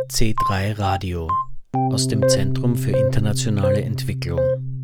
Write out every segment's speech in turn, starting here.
C3 Radio aus dem Zentrum für internationale Entwicklung.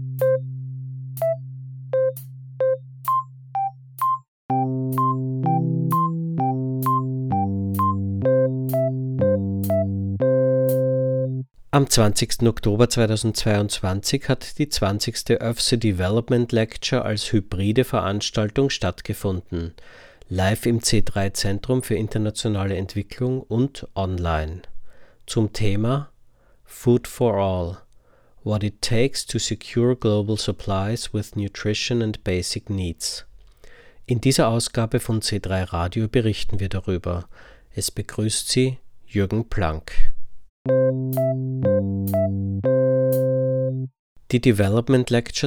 Am 20. Oktober 2022 hat die 20. ÖFSE Development Lecture als hybride Veranstaltung stattgefunden, live im C3 Zentrum für internationale Entwicklung und online. Zum Thema Food for All – What it takes to secure global supplies with nutrition and basic needs. In dieser Ausgabe von C3 Radio berichten wir darüber. Es begrüßt Sie Jürgen Planck. Die Development Lecture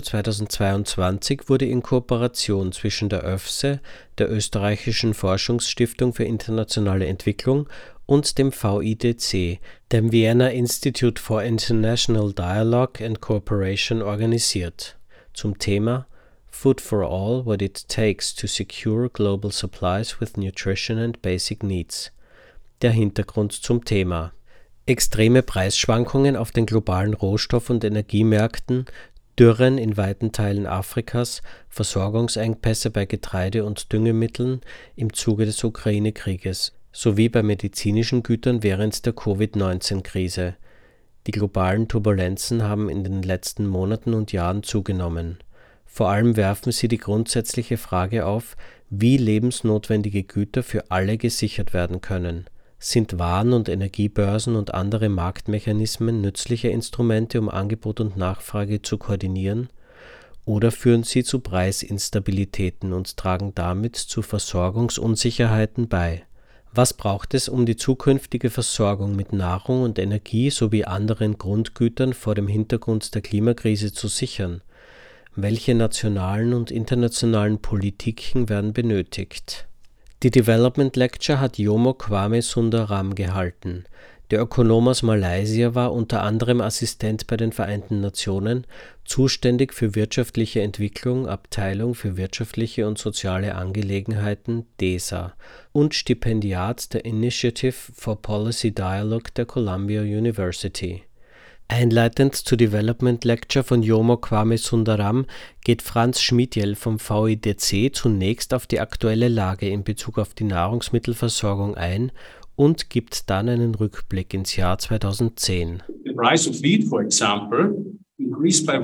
2022 wurde in Kooperation zwischen der ÖFSE, der Österreichischen Forschungsstiftung für internationale Entwicklung und dem VIDC, dem Vienna Institute for International Dialogue and Cooperation, organisiert. Zum Thema Food for All – What it takes to secure global supplies with nutrition and basic needs. Der Hintergrund zum Thema: extreme Preisschwankungen auf den globalen Rohstoff- und Energiemärkten, Dürren in weiten Teilen Afrikas, Versorgungsengpässe bei Getreide und Düngemitteln im Zuge des Ukraine-Krieges sowie bei medizinischen Gütern während der Covid-19-Krise. Die globalen Turbulenzen haben in den letzten Monaten und Jahren zugenommen. Vor allem werfen sie die grundsätzliche Frage auf, wie lebensnotwendige Güter für alle gesichert werden können. Sind Waren- und Energiebörsen und andere Marktmechanismen nützliche Instrumente, um Angebot und Nachfrage zu koordinieren? Oder führen sie zu Preisinstabilitäten und tragen damit zu Versorgungsunsicherheiten bei? Was braucht es, um die zukünftige Versorgung mit Nahrung und Energie sowie anderen Grundgütern vor dem Hintergrund der Klimakrise zu sichern? Welche nationalen und internationalen Politiken werden benötigt? Die Development Lecture hat Jomo Kwame Sundaram gehalten. Der Ökonom aus Malaysia war unter anderem Assistent bei den Vereinten Nationen, zuständig für wirtschaftliche Entwicklung, Abteilung für wirtschaftliche und soziale Angelegenheiten (DESA) und Stipendiat der Initiative for Policy Dialogue der Columbia University. Einleitend zur Development Lecture von Jomo Kwame Sundaram geht Franz Schmidl vom VIDC zunächst auf die aktuelle Lage in Bezug auf die Nahrungsmittelversorgung ein und gibt dann einen Rückblick ins Jahr 2010. The price of wheat, for example, increased by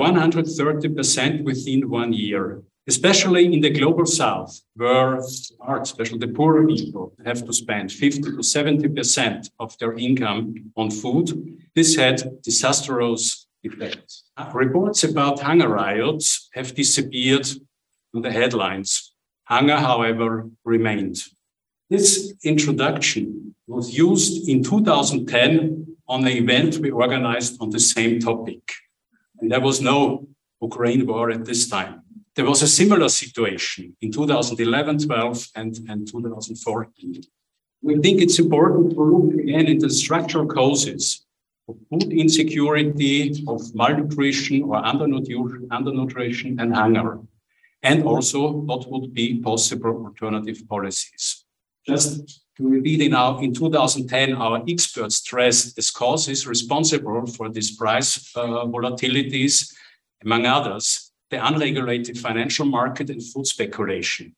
130% within 1 year, especially in the global south, where especially the poorer people have to spend 50 to 70% of their income on food. This had disastrous effects. Reports about hunger riots have disappeared from the headlines. Hunger, however, remained. This introduction was used in 2010 on an event we organized on the same topic. And there was no Ukraine war at this time. There was a similar situation in 2011, 12, and 2014. We think it's important to look again into the structural causes of food insecurity, of malnutrition or undernutrition and hunger, and also what would be possible alternative policies. Just to repeat, in 2010, our experts stressed as causes responsible for these price volatilities, among others, the unregulated financial market and food speculation.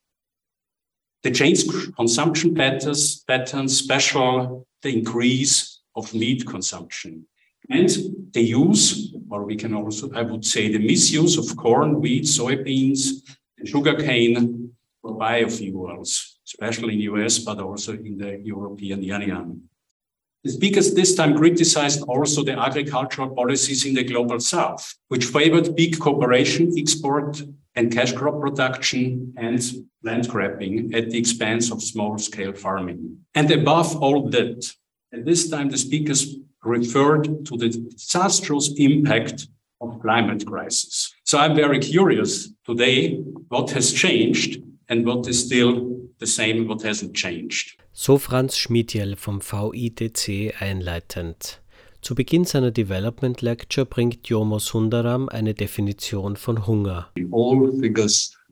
The changed consumption patterns, especially the increase of meat consumption. And the use, or we can also, I would say, the misuse of corn, wheat, soybeans, and sugarcane for biofuels, especially in the US, but also in the European Union. The speakers this time criticized also the agricultural policies in the global south, which favored big cooperation, export, and cash crop production and land grabbing at the expense of small-scale farming. And above all that, at this time the speakers referred to the disastrous impact of climate crisis. So I'm very curious today what has changed and what is still the same, what hasn't changed. So Franz Schmidl vom VIDC einleitend. Zu Beginn seiner Development Lecture bringt Jomo Sundaram eine Definition von Hunger. All figures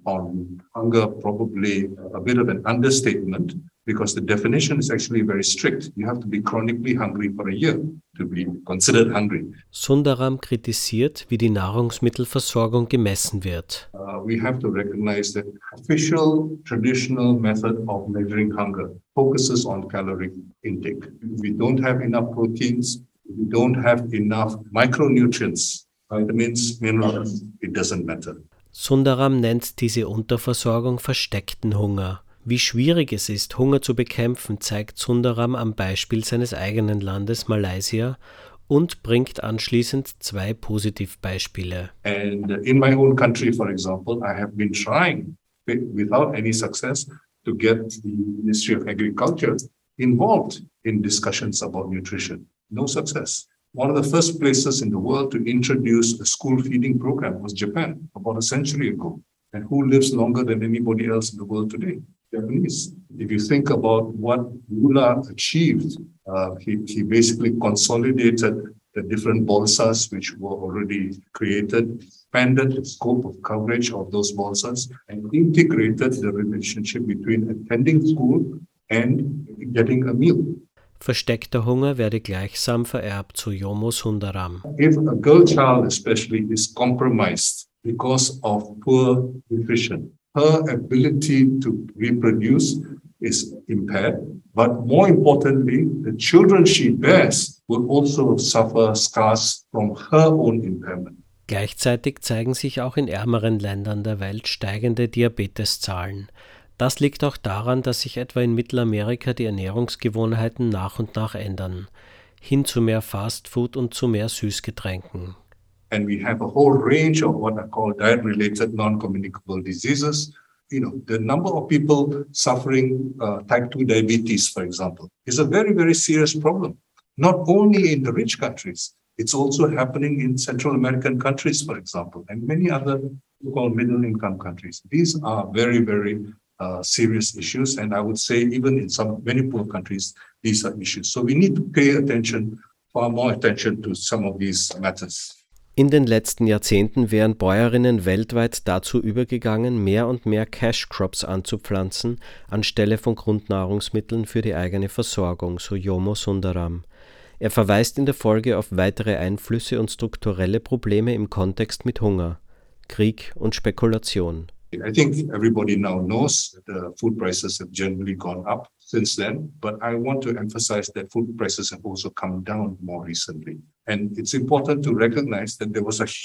on hunger probably a bit of an understatement, because the definition is actually very strict. You have to be chronically hungry for a year to be considered hungry. Sundaram kritisiert, wie die Nahrungsmittelversorgung gemessen wird. We have to recognize that official traditional method of measuring hunger focuses on caloric intake. If we don't have enough proteins, if we don't have enough micronutrients, vitamins, minerals, it doesn't matter. Sundaram nennt diese Unterversorgung versteckten Hunger. Wie schwierig es ist, Hunger zu bekämpfen, zeigt Sundaram am Beispiel seines eigenen Landes Malaysia und bringt anschließend 2 Positivbeispiele. And in my own country, for example, I have been trying, without any success, to get the Ministry of Agriculture involved in discussions about nutrition. No success. One of the first places in the world to introduce a school feeding program was Japan, about a century ago. And who lives longer than anybody else in the world today? Japanese. If you think about what Lula achieved, he basically consolidated the different bolsas which were already created, expanded the scope of coverage of those bolsas, and integrated the relationship between attending school and getting a meal. Versteckter Hunger werde gleichsam vererbt, so Jomo Sundaram. If a girl child especially is compromised because of poor nutrition, her ability to reproduce is impaired, but more importantly, the children she bears will also suffer scars from her own impairment. Gleichzeitig zeigen sich auch in ärmeren Ländern der Welt steigende Diabeteszahlen. Das liegt auch daran, dass sich etwa in Mittelamerika die Ernährungsgewohnheiten nach und nach ändern, hin zu mehr Fastfood und zu mehr Süßgetränken. And we have a whole range of what I call diet-related non-communicable diseases. The number of people suffering type 2 diabetes, for example, is a very, very serious problem. Not only in the rich countries, it's also happening in Central American countries, for example, and many other so-called middle-income countries. These are very, very serious issues, and I would say even in many poor countries, these are issues. So we need to pay attention, far more attention to some of these matters. In den letzten Jahrzehnten wären Bäuerinnen weltweit dazu übergegangen, mehr und mehr Cash Crops anzupflanzen, anstelle von Grundnahrungsmitteln für die eigene Versorgung, so Jomo Sundaram. Er verweist in der Folge auf weitere Einflüsse und strukturelle Probleme im Kontext mit Hunger, Krieg und Spekulation. I think everybody now knows that the food prices have generally gone up since then, but I want to emphasize that food prices have also come down more recently. And it's important to recognize that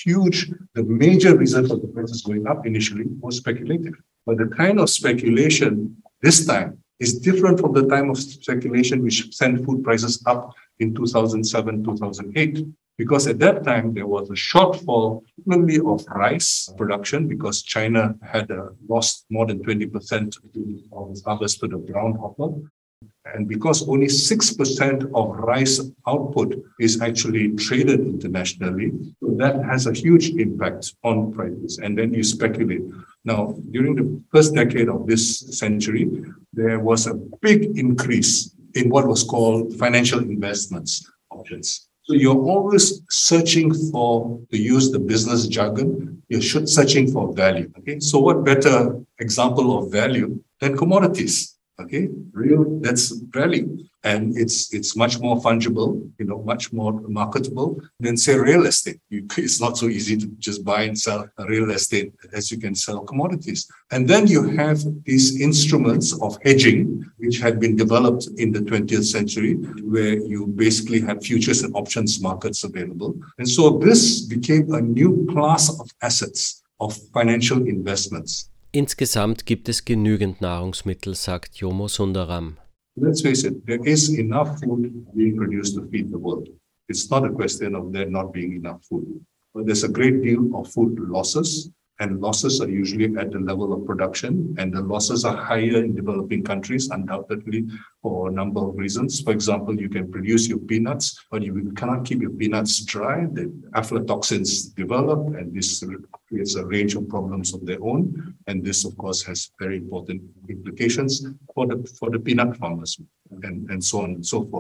the major reason for the prices going up initially was speculative. But the kind of speculation this time is different from the time of speculation which sent food prices up in 2007, 2008. Because at that time, there was a shortfall, mainly of rice production, because China had lost more than 20% of its harvest to the brown hopper. And because only 6% of rice output is actually traded internationally, so that has a huge impact on prices. And then you speculate. Now, during the first decade of this century, there was a big increase in what was called financial investments options. So you're always searching to use the business jargon, you're searching for value. Okay, so what better example of value than commodities? Okay, that's value, and it's much more fungible, much more marketable than say real estate. It's not so easy to just buy and sell a real estate as you can sell commodities. And then you have these instruments of hedging, which had been developed in the 20th century, where you basically had futures and options markets available. And so this became a new class of assets, of financial investments. Insgesamt gibt es genügend Nahrungsmittel, sagt Jomo Sundaram. Let's face it, there is enough food being produced to feed the world. It's not a question of there not being enough food. But there's a great deal of food losses, and losses are usually at the level of production, and the losses are higher in developing countries, undoubtedly, for a number of reasons. For example, you can produce your peanuts, but you cannot keep your peanuts dry. The aflatoxins develop, and this creates a range of problems of their own. And this, of course, has very important implications for the peanut farmers and so on and so forth.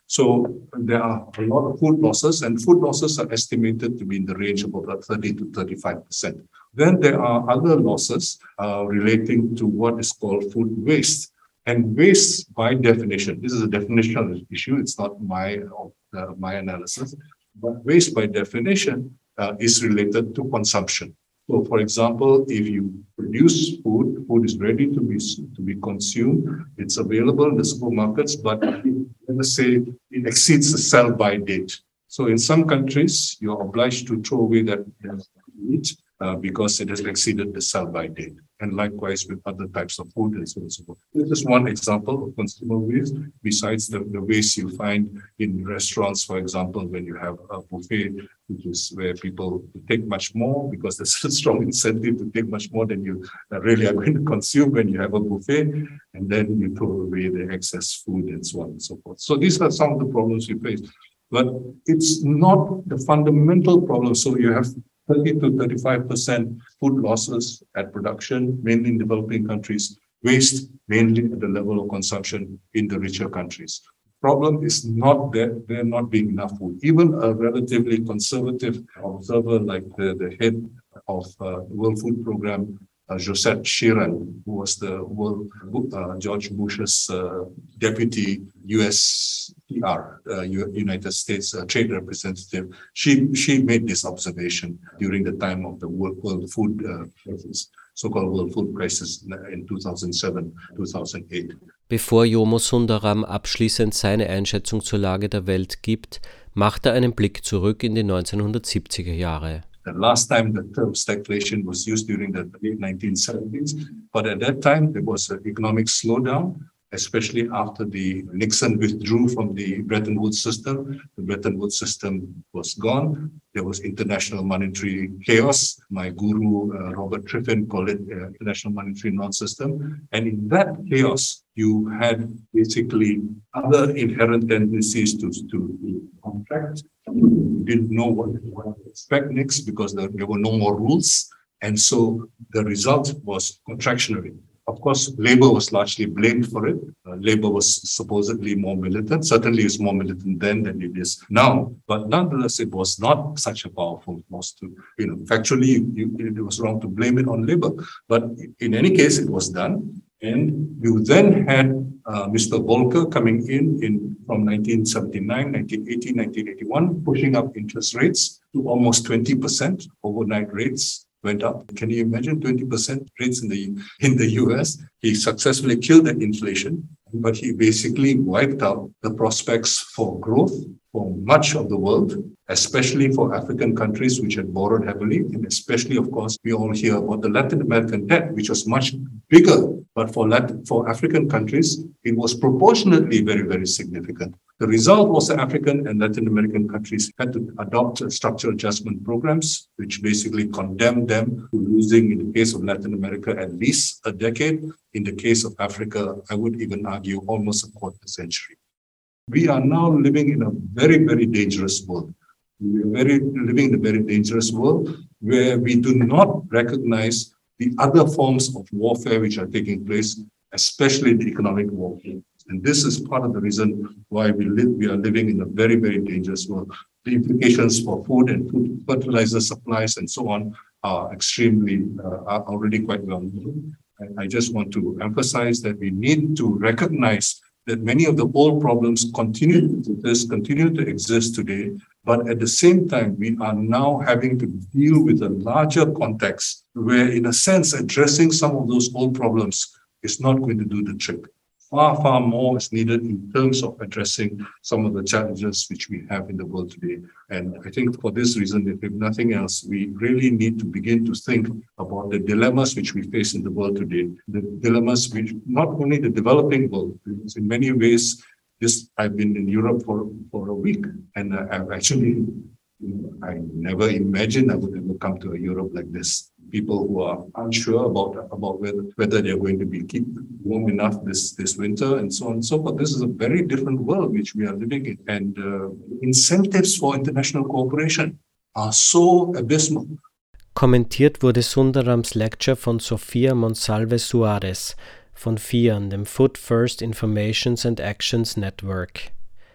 So there are a lot of food losses, and food losses are estimated to be in the range of about 30 to 35%. Then there are other losses relating to what is called food waste. And waste, by definition, this is a definitional issue, it's not my analysis, but waste by definition is related to consumption. So, for example, if you produce food, food is ready to be consumed, it's available in the supermarkets, but let us say it exceeds the sell-by date. So, in some countries, you're obliged to throw away that meat because it has exceeded the sell-by date. And likewise with other types of food and so on and so forth. This is one example of consumer waste, besides the waste you find in restaurants, for example, when you have a buffet, which is where people take much more because there's a strong incentive to take much more than you really are going to consume when you have a buffet, and then you throw away the excess food and so on and so forth. So these are some of the problems we face. But it's not the fundamental problem. So you have 30 to 35% food losses at production, mainly in developing countries, waste mainly at the level of consumption in the richer countries. Problem is not that there not being enough food. Even a relatively conservative observer like the head of the World Food Program, Josette Sheeran, who was the George Bush's deputy USTR, United States Trade Representative, she made this observation during the time of the World Food Crisis, so-called World Food Crisis in 2007, 2008. Bevor Jomo Sundaram abschließend seine Einschätzung zur Lage der Welt gibt, macht er einen Blick zurück in die 1970er Jahre. The last time the term stagflation was used during the late 1970s, but at that time there was an economic slowdown, especially after the Nixon withdrew from the Bretton Woods system. The Bretton Woods system was gone. There was international monetary chaos. My guru, Robert Triffin, called it international monetary non-system. And in that chaos, you had basically other inherent tendencies to contract. You didn't know what to expect next because there were no more rules. And so the result was contractionary. Of course, Labour was largely blamed for it. Labour was supposedly more militant. Certainly, it's more militant then than it is now. But nonetheless, it was not such a powerful force to, factually, it was wrong to blame it on Labour. But in any case, it was done. And you then had Mr. Volcker coming in from 1979, 1980, 1981, pushing up interest rates to almost 20%. Overnight rates went up. Can you imagine 20% rates in the US? He successfully killed that inflation, but he basically wiped out the prospects for growth for much of the world, especially for African countries which had borrowed heavily, and especially, of course, we all hear about the Latin American debt, which was much bigger, but for African countries, it was proportionately very, very significant. The result was that African and Latin American countries had to adopt structural adjustment programs, which basically condemned them to losing, in the case of Latin America, at least a decade. In the case of Africa, I would even argue almost a quarter century. We are now living in a very, very dangerous world. We are living in a very dangerous world where we do not recognize the other forms of warfare which are taking place, especially the economic warfare. And this is part of the reason why we are living in a very, very dangerous world. The implications for food and food fertilizer supplies and so on are are already quite well known. I just want to emphasize that we need to recognize that many of the old problems continue to exist today, but at the same time, we are now having to deal with a larger context where, in a sense, addressing some of those old problems is not going to do the trick. Far, far more is needed in terms of addressing some of the challenges which we have in the world today. And I think for this reason, if nothing else, we really need to begin to think about the dilemmas which we face in the world today. The dilemmas which not only the developing world, because in many ways, I've been in Europe for a week, and I've actually, I never imagined I would ever come to a Europe like this. People who are unsure about whether they're going to be keep warm enough this winter and so on and so forth. This is a very different world which we are living in, and incentives for international cooperation are so abysmal. Kommentiert wurde Sundarams Lecture von Sofia Monsalve Soares von FIAN, dem Food First Informations and Actions Network.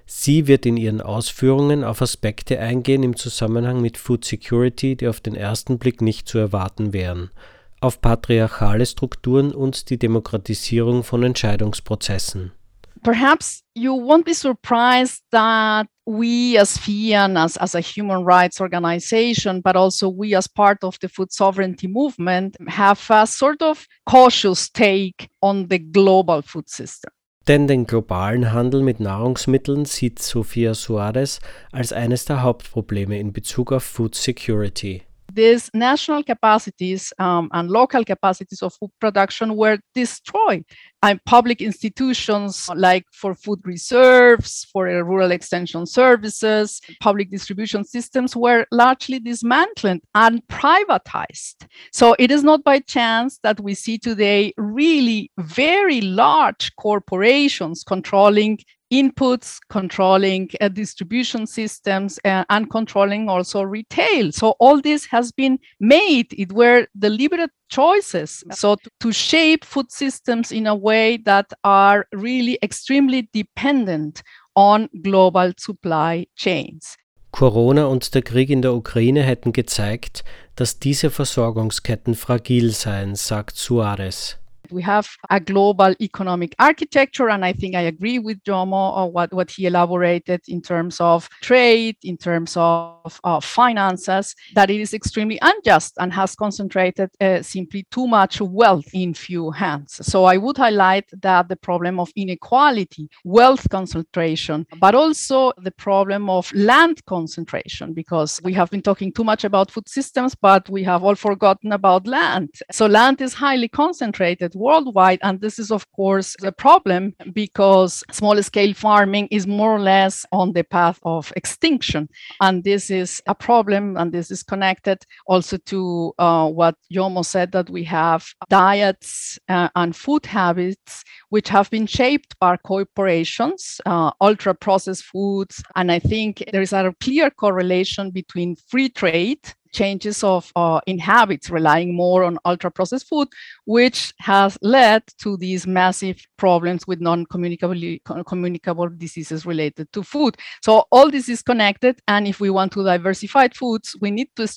Sie wird in ihren Ausführungen auf Aspekte eingehen im Zusammenhang mit Food Security, die auf den ersten Blick nicht zu erwarten wären, auf patriarchale Strukturen und die Demokratisierung von Entscheidungsprozessen. Perhaps you won't be surprised that we as FIAN, as a human rights organization, but also we as part of the food sovereignty movement, have a sort of cautious take on the global food system. Denn den globalen Handel mit Nahrungsmitteln sieht Sofia Soares als eines der Hauptprobleme in Bezug auf Food Security. These national capacities and local capacities of food production were destroyed. And public institutions like for food reserves, for rural extension services, public distribution systems were largely dismantled and privatized. So it is not by chance that we see today really very large corporations controlling inputs, controlling distribution systems, and controlling also retail. So all this has been made. It were deliberate choices. So to shape food systems in a way that are really extremely dependent on global supply chains. Corona und der Krieg in der Ukraine hätten gezeigt, dass diese Versorgungsketten fragil seien, sagt Soares. We have a global economic architecture, and I think I agree with Jomo on what he elaborated in terms of trade, in terms of finances, that it is extremely unjust and has concentrated simply too much wealth in few hands. So I would highlight that the problem of inequality, wealth concentration, but also the problem of land concentration, because we have been talking too much about food systems, but we have all forgotten about land. So land is highly concentrated worldwide, and this is of course a problem because small-scale farming is more or less on the path of extinction, and this is a problem, and this is connected also to what Jomo said, that we have diets and food habits which have been shaped by corporations, ultra-processed foods, and I think there is a clear correlation between free trade, changes in habits, relying more on ultra-processed food, which has led to these massive problems with non-communicable diseases related to food. So all this is connected, and if we want to diversify foods, we need to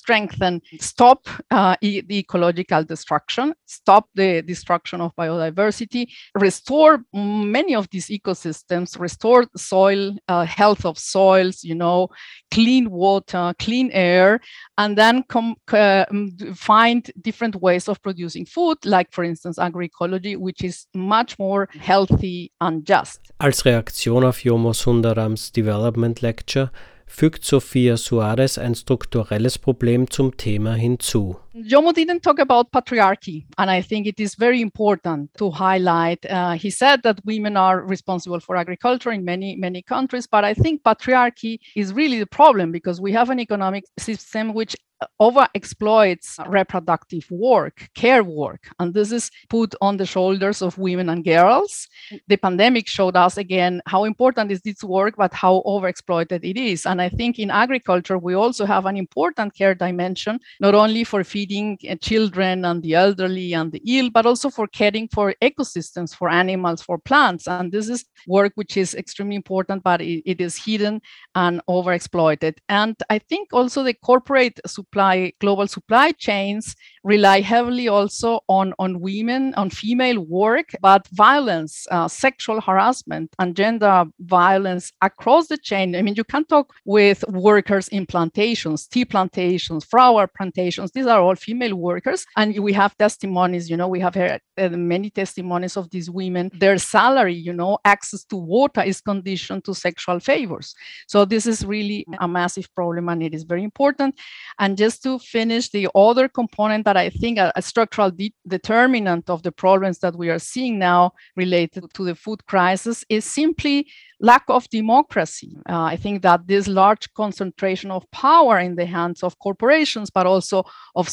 stop the ecological destruction, stop the destruction of biodiversity, restore many of these ecosystems, restore soil, health of soils, clean water, clean air, and then find different ways of producing food, like for instance agroecology, which is much more healthy and just. Als Reaktion auf Jomo Sundarams Development Lecture fügt Sofia Soares ein strukturelles Problem zum Thema hinzu. Jomo didn't talk about patriarchy, and I think it is very important to highlight. He said that women are responsible for agriculture in many countries, but I think patriarchy is really the problem, because we have an economic system which overexploits reproductive work, care work, and this is put on the shoulders of women and girls. The pandemic showed us again how important is this work, but how overexploited it is. And I think in agriculture, we also have an important care dimension, not only for feeding children and the elderly and the ill, but also for caring for ecosystems, for animals, for plants. And this is work which is extremely important, but it is hidden and overexploited. And I think also the corporate global supply chains rely heavily also on women, on female work, but violence, sexual harassment, and gender violence across the chain. I mean, you can talk with workers in plantations, tea plantations, flower plantations. These are all female workers, and we have testimonies. We have heard many testimonies of these women. Their salary, access to water is conditioned to sexual favors. So this is really a massive problem, and it is very important. And just to finish, the other component that I think a structural determinant of the problems that we are seeing now related to the food crisis is simply lack of democracy. I think that this large concentration of power in the hands of corporations, but also of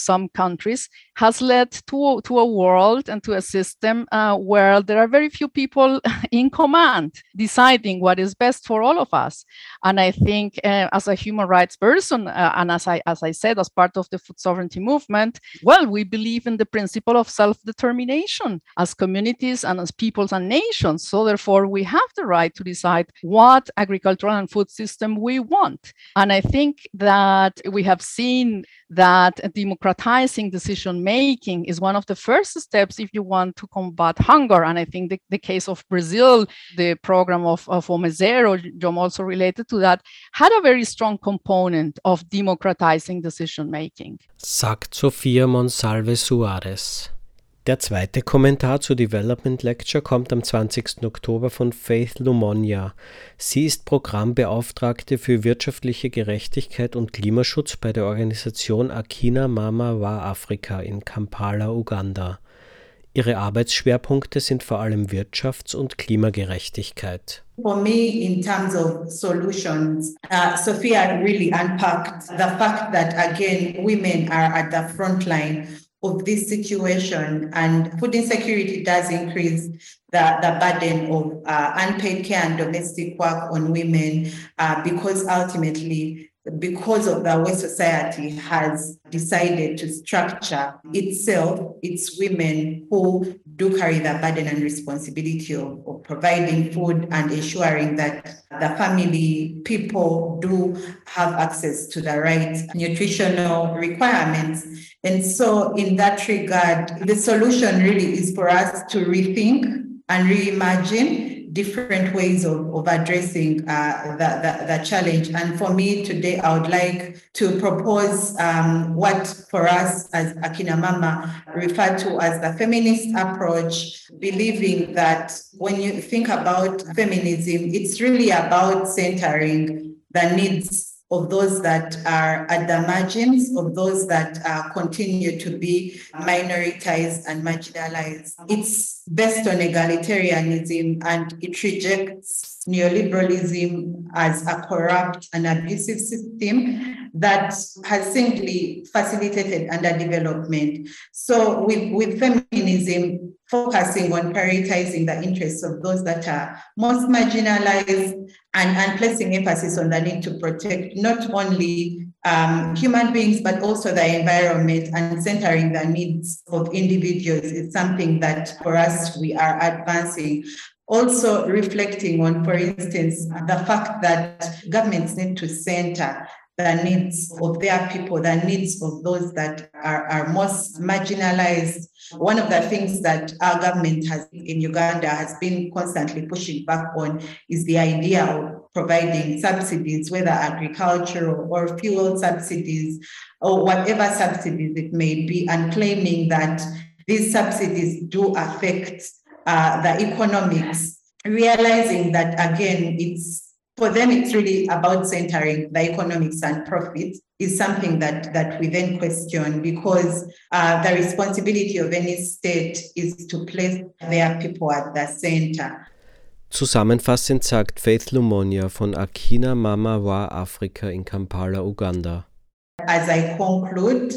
some countries has led to a world and to a system where there are very few people in command deciding what is best for all of us. And I think as a human rights person, and as I said, as part of the food sovereignty movement, well, we believe in the principle of self-determination as communities and as peoples and nations. So therefore, we have the right to decide what agricultural and food system we want. And I think that we have seen that democratizing decision-making is one of the first steps if you want to combat hunger. And I think the case of Brazil, the program of Fome Zero, Jom also related to that, had a very strong component of democratizing decision-making. Sagt Sophia Monsalve Soares. Der zweite Kommentar zur Development Lecture kommt am 20. Oktober von Faith Lumonia. Sie ist Programmbeauftragte für wirtschaftliche Gerechtigkeit und Klimaschutz bei der Organisation Akina Mama Wa Afrika in Kampala, Uganda. Ihre Arbeitsschwerpunkte sind vor allem Wirtschafts- und Klimagerechtigkeit. For me, in terms of solutions, Sophia really unpacked the fact that, again, women are at the front line of this situation, and food insecurity does increase the burden of unpaid care and domestic work on women because ultimately, because of the way society has decided to structure itself, it's women who do carry the burden and responsibility of providing food and ensuring that the family people do have access to the right nutritional requirements. And so in that regard, the solution really is for us to rethink and reimagine different ways of addressing the challenge. And for me today, I would like to propose what for us as Akina Mama refer to as the feminist approach, believing that when you think about feminism, it's really about centering the needs of those that are at the margins, of those that continue to be minoritized and marginalized. It's based on egalitarianism, and it rejects neoliberalism as a corrupt and abusive system that has simply facilitated underdevelopment. So with feminism, focusing on prioritizing the interests of those that are most marginalized and placing emphasis on the need to protect not only human beings, but also the environment, and centering the needs of individuals is something that for us we are advancing. Also reflecting on, for instance, the fact that governments need to center the needs of their people, the needs of those that are most marginalized. One of the things that our government has in Uganda has been constantly pushing back on is the idea of providing subsidies, whether agricultural or fuel subsidies or whatever subsidies it may be, and claiming that these subsidies do affect the economics, realizing that, again, for them, it's really about centering the economics and profit is something that we then question, because the responsibility of any state is to place their people at the center. Zusammenfassend sagt Faith Lumonia von Akina Mama Wa Afrika in Kampala, Uganda. As I conclude,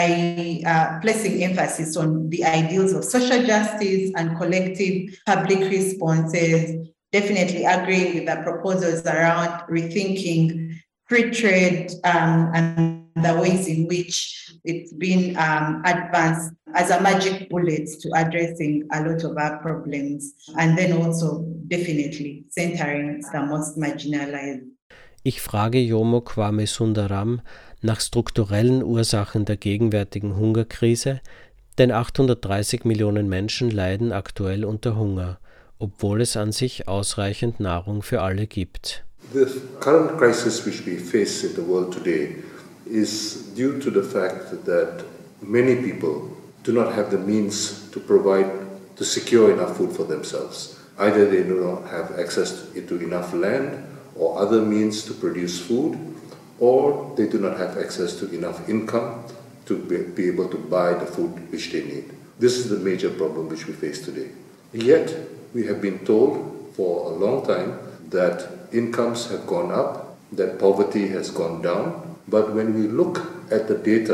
I placing emphasis on the ideals of social justice and collective public responses, definitely agreeing with the proposals around rethinking free trade and the ways in which it's been advanced as a magic bullet to addressing a lot of our problems, and then also definitely centering the most marginalized. Ich frage Jomo Kwame Sundaram nach strukturellen Ursachen der gegenwärtigen Hungerkrise, denn 830 Millionen Menschen leiden aktuell unter Hunger, obwohl es an sich ausreichend Nahrung für alle gibt. The current crisis which we face in the world today is due to the fact that many people do not have the means to secure enough food for themselves. Either they do not have access to enough land or other means to produce food, or they do not have access to enough income to be able to buy the food which they need. This is the major problem which we face today. Yet, we have been told for a long time that incomes have gone up, that poverty has gone down. But when we look at the data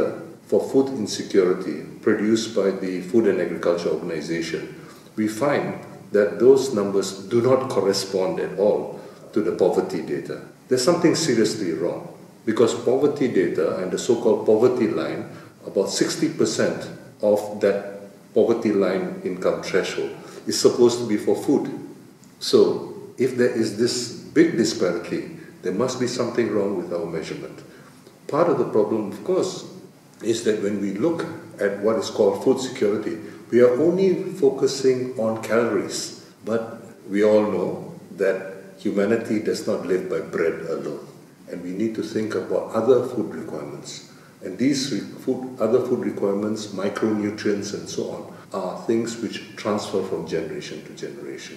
for food insecurity produced by the Food and Agriculture Organization, we find that those numbers do not correspond at all to the poverty data. There's something seriously wrong, because poverty data and the so-called poverty line, about 60% of that poverty line income threshold is supposed to be for food. So if there is this big disparity, there must be something wrong with our measurement. Part of the problem, of course, is that when we look at what is called food security, we are only focusing on calories, but we all know that humanity does not live by bread alone, and we need to think about other food requirements. And these other food requirements, micronutrients and so on, are things which transfer from generation to generation.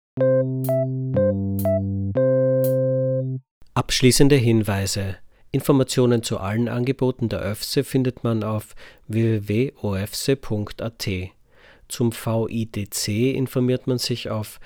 Abschließende Hinweise. Informationen zu allen Angeboten der ÖFSE findet man auf www.ofse.at. Zum VIDC informiert man sich auf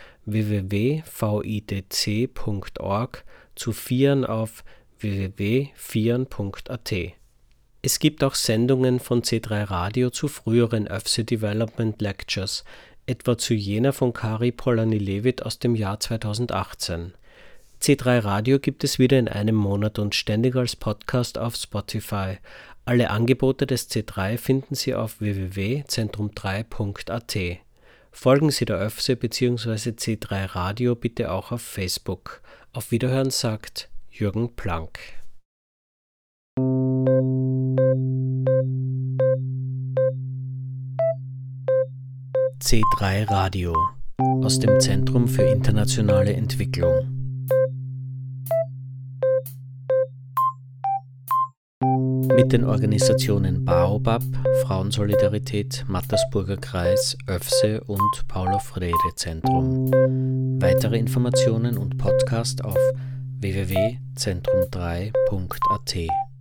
www.vidc.org, zu FIAN auf www.fian.at. Es gibt auch Sendungen von C3 Radio zu früheren ÖFSE Development Lectures, etwa zu jener von Kari Polanyi-Levitt aus dem Jahr 2018. C3 Radio gibt es wieder in einem Monat und ständig als Podcast auf Spotify. Alle Angebote des C3 finden Sie auf www.zentrum3.at. Folgen Sie der ÖFSE bzw. C3 Radio bitte auch auf Facebook. Auf Wiederhören sagt Jürgen Planck. C3 Radio aus dem Zentrum für internationale Entwicklung. Mit den Organisationen Baobab, Frauensolidarität, Mattersburger Kreis, ÖFSE und Paulo-Freire-Zentrum. Weitere Informationen und Podcast auf www.zentrum3.at.